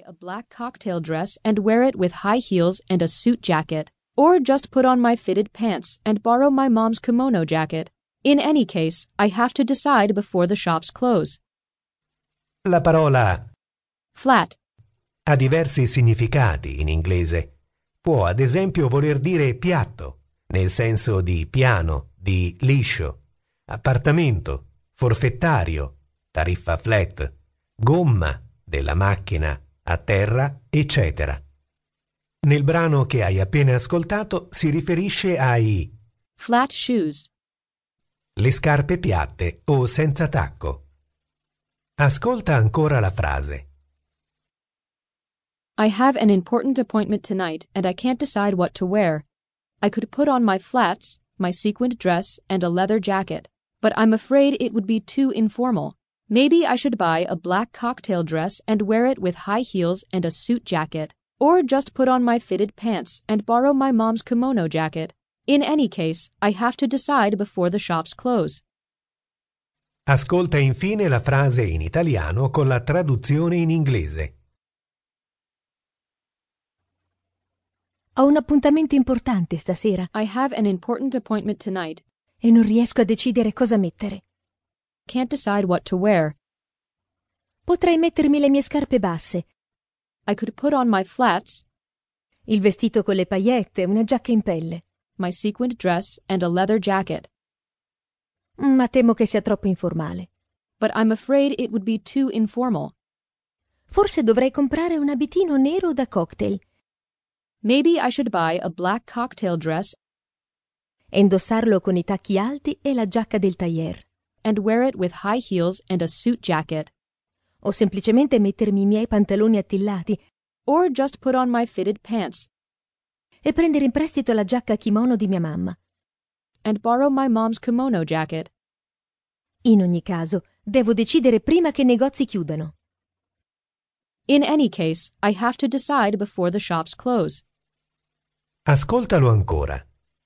a black cocktail dress and wear it with high heels and a suit jacket, or just put on my fitted pants and borrow my mom's kimono jacket. In any case, I have to decide before the shops close. La parola Flat. ha diversi significati in inglese. Può ad esempio voler dire piatto, nel senso di piano, di liscio, appartamento, forfettario, tariffa flat, gomma della macchina, a terra, eccetera. Nel brano che hai appena ascoltato si riferisce ai Flat shoes. le scarpe piatte o senza tacco. Ascolta ancora la frase. I have an important appointment tonight and I can't decide what to wear. I could put on my flats, my sequined dress, and a leather jacket, but I'm afraid it would be too informal. Maybe I should buy a black cocktail dress and wear it with high heels and a suit jacket, or just put on my fitted pants and borrow my mom's kimono jacket. In any case, I have to decide before the shops close. Ascolta infine la frase in italiano con la traduzione in inglese. Ho un appuntamento importante stasera I have an important appointment tonight. e non riesco a decidere cosa mettere. Can't decide what to wear. Potrei mettermi le mie scarpe basse, I could put on my flats, il vestito con le paillette, una giacca in pelle. my sequined dress, and a leather jacket, Ma temo che sia troppo informale. but I'm afraid it would be too informal. Forse dovrei comprare un abitino nero da cocktail Maybe I should buy a black cocktail dress e indossarlo con i tacchi alti e la giacca del tailleur. and wear it with high heels and a suit jacket, O semplicemente mettermi i miei pantaloni attillati or just put on my fitted pants e prendere in prestito la giacca kimono di mia mamma. and borrow my mom's kimono jacket. In ogni caso, devo decidere prima che i negozi chiudano. In any case, I have to decide before the shops close. Ascoltalo ancora.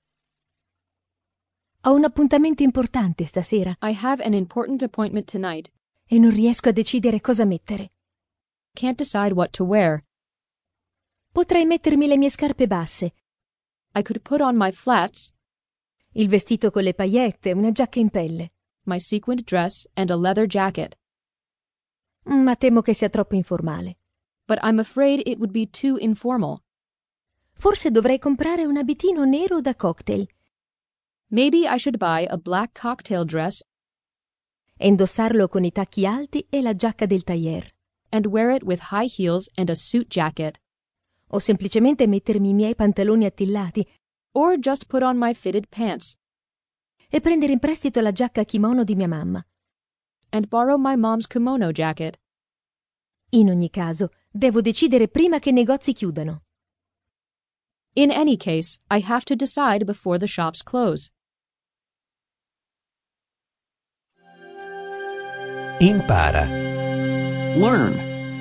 Ho un appuntamento importante stasera I have an important appointment tonight. e non riesco a decidere cosa mettere. Can't decide what to wear. Potrei mettermi le mie scarpe basse, I could put on my flats, il vestito con le paillette, una giacca in pelle. my sequined dress, and a leather jacket, Ma temo che sia troppo informale. but I'm afraid it would be too informal. Forse dovrei comprare un abitino nero da cocktail Maybe I should buy a black cocktail dress e indossarlo con i tacchi alti e la giacca del tailleur. and wear it with high heels and a suit jacket, O semplicemente mettermi i miei pantaloni attillati or just put on my fitted pants e prendere in prestito la giacca kimono di mia mamma. and borrow my mom's kimono jacket. In ogni caso, devo decidere prima che i negozi chiudano. In any case, I have to decide before the shops close. Impara. Learn.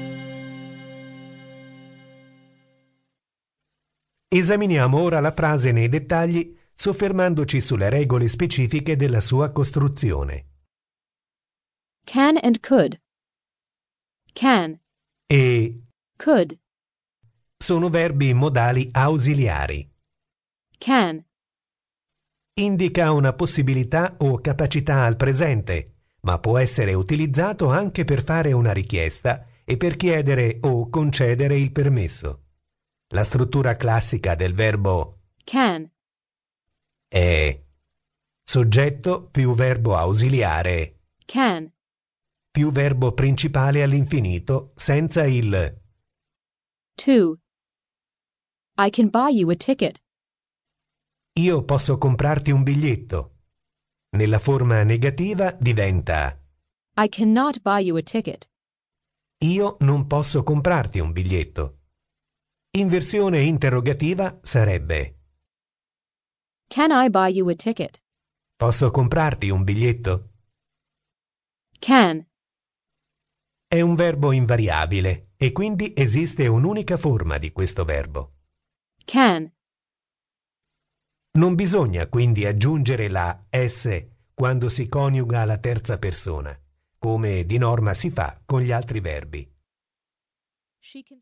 Esaminiamo ora la frase nei dettagli, soffermandoci sulle regole specifiche della sua costruzione. Can and could. Can, E could, sono verbi modali ausiliari. can, Indica una possibilità o capacità al presente, ma può essere utilizzato anche per fare una richiesta e per chiedere o concedere il permesso. La struttura classica del verbo can, è soggetto più verbo ausiliare can, più verbo principale all'infinito senza il. to. I can buy you a ticket. Io posso comprarti un biglietto. Nella forma negativa diventa I cannot buy you a ticket. io non posso comprarti un biglietto. In versione interrogativa sarebbe Can I buy you a ticket? posso comprarti un biglietto? Can, È un verbo invariabile e quindi esiste un'unica forma di questo verbo. can, Non bisogna quindi aggiungere la S quando si coniuga alla terza persona, come di norma si fa con gli altri verbi. she can